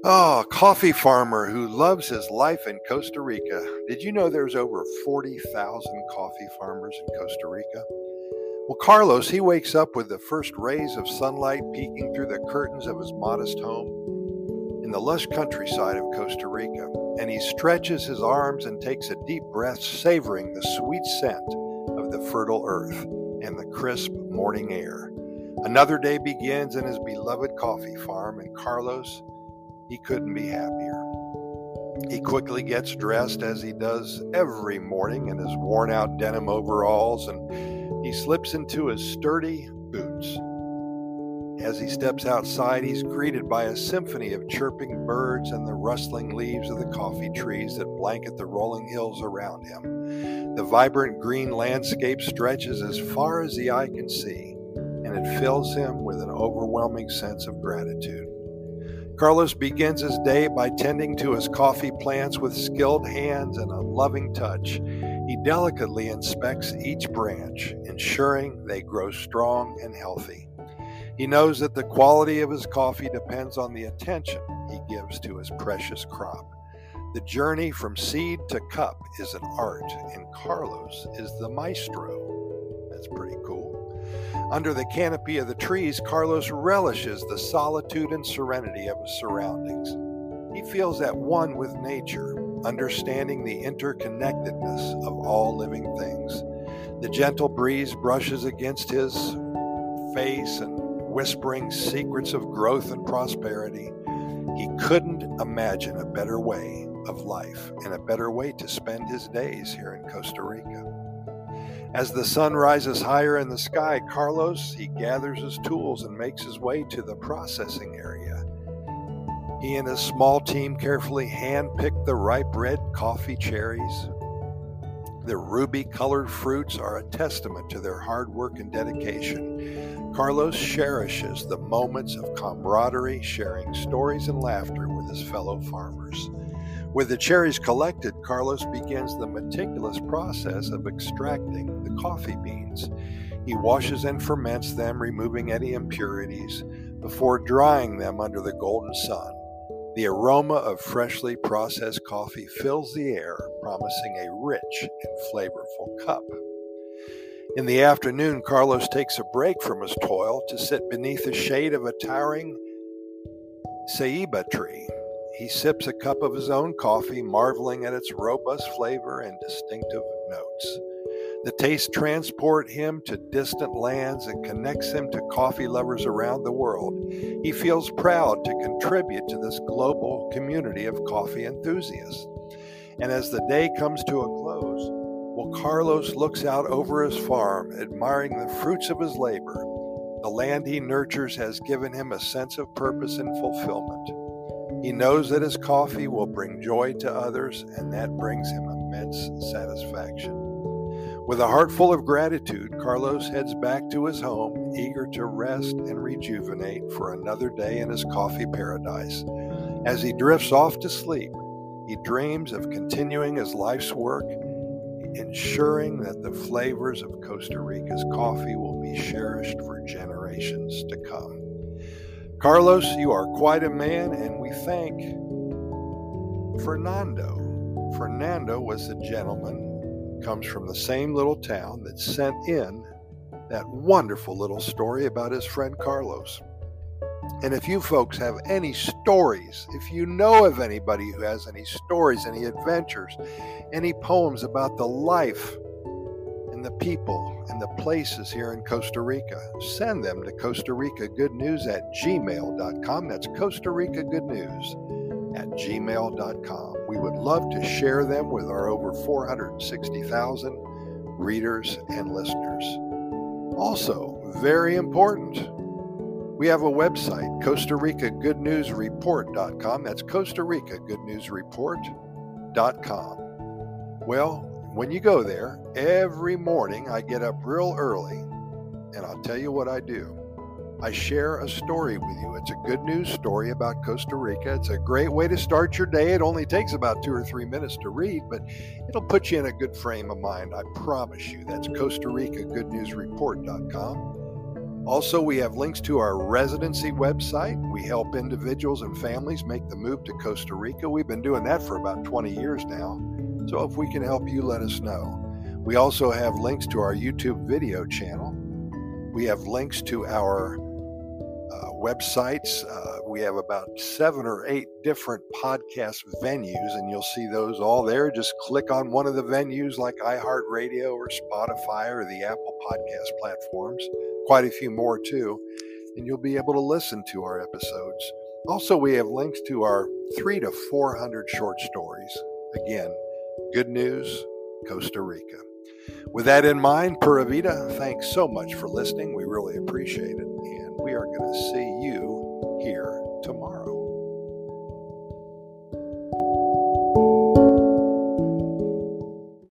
Oh, a coffee farmer who loves his life in Costa Rica. Did you know there's over 40,000 coffee farmers in Costa Rica? Well, Carlos, he wakes up with the first rays of sunlight peeking through the curtains of his modest home in the lush countryside of Costa Rica, and he stretches his arms and takes a deep breath, savoring the sweet scent of the fertile earth and the crisp morning air. Another day begins in his beloved coffee farm, and Carlos, he couldn't be happier. He quickly gets dressed as he does every morning in his worn out denim overalls, and he slips into his sturdy boots. As he steps outside, he's greeted by a symphony of chirping birds and the rustling leaves of the coffee trees that blanket the rolling hills around him. The vibrant green landscape stretches as far as the eye can see, and it fills him with an overwhelming sense of gratitude. Carlos begins his day by tending to his coffee plants with skilled hands and a loving touch. He delicately inspects each branch, ensuring they grow strong and healthy. He knows that the quality of his coffee depends on the attention he gives to his precious crop. The journey from seed to cup is an art, and Carlos is the maestro. That's pretty cool. Under the canopy of the trees, Carlos relishes the solitude and serenity of his surroundings. He feels at one with nature, understanding the interconnectedness of all living things. The gentle breeze brushes against his face and whispering secrets of growth and prosperity. He couldn't imagine a better way of life and a better way to spend his days here in Costa Rica. As the sun rises higher in the sky, Carlos, he gathers his tools and makes his way to the processing area. He and his small team carefully hand-pick the ripe red coffee cherries. The ruby-colored fruits are a testament to their hard work and dedication. Carlos cherishes the moments of camaraderie, sharing stories and laughter with his fellow farmers. With the cherries collected, Carlos begins the meticulous process of extracting the coffee beans. He washes and ferments them, removing any impurities, before drying them under the golden sun. The aroma of freshly processed coffee fills the air, promising a rich and flavorful cup. In the afternoon, Carlos takes a break from his toil to sit beneath the shade of a towering ceiba tree. He sips a cup of his own coffee, marveling at its robust flavor and distinctive notes. The taste transports him to distant lands and connects him to coffee lovers around the world. He feels proud to contribute to this global community of coffee enthusiasts. And as the day comes to a close, Carlos looks out over his farm, admiring the fruits of his labor. The land he nurtures has given him a sense of purpose and fulfillment. He knows that his coffee will bring joy to others, and that brings him immense satisfaction. With a heart full of gratitude, Carlos heads back to his home, eager to rest and rejuvenate for another day in his coffee paradise. As he drifts off to sleep, he dreams of continuing his life's work, ensuring that the flavors of Costa Rica's coffee will be cherished for generations to come. Carlos, you are quite a man, and we thank Fernando. Fernando was the gentleman, comes from the same little town, that sent in that wonderful little story about his friend Carlos. And if you folks have any stories, if you know of anybody who has any stories, any adventures, any poems about the life and the people and the places here in Costa Rica, send them to Costa Rica Good News at gmail.com. That's Costa Rica Good News at gmail.com. We would love to share them with our over 460,000 readers and listeners. Also, very important, we have a website, Costa Rica Good News Report.com. That's Costa Rica Good News Report.com. Well, when you go there, every morning I get up real early, and I'll tell you what I do. I share a story with you. It's a good news story about Costa Rica. It's a great way to start your day. It only takes about 2 or 3 minutes to read, but it'll put you in a good frame of mind. I promise you. That's Costa Rica Good News Report.com. Also, we have links to our residency website. We help individuals and families make the move to Costa Rica. We've been doing that for about 20 years now. So if we can help you, let us know. We also have links to our YouTube video channel. We have links to our websites. We have about 7 or 8 different podcast venues, and you'll see those all there. Just click on one of the venues like iHeartRadio or Spotify or the Apple Podcast platforms. Quite a few more too, and you'll be able to listen to our episodes. Also, we have links to our 300 to 400 short stories. Again, good news, Costa Rica. With that in mind, Pura Vida, thanks so much for listening. We really appreciate it, and we are going to see you here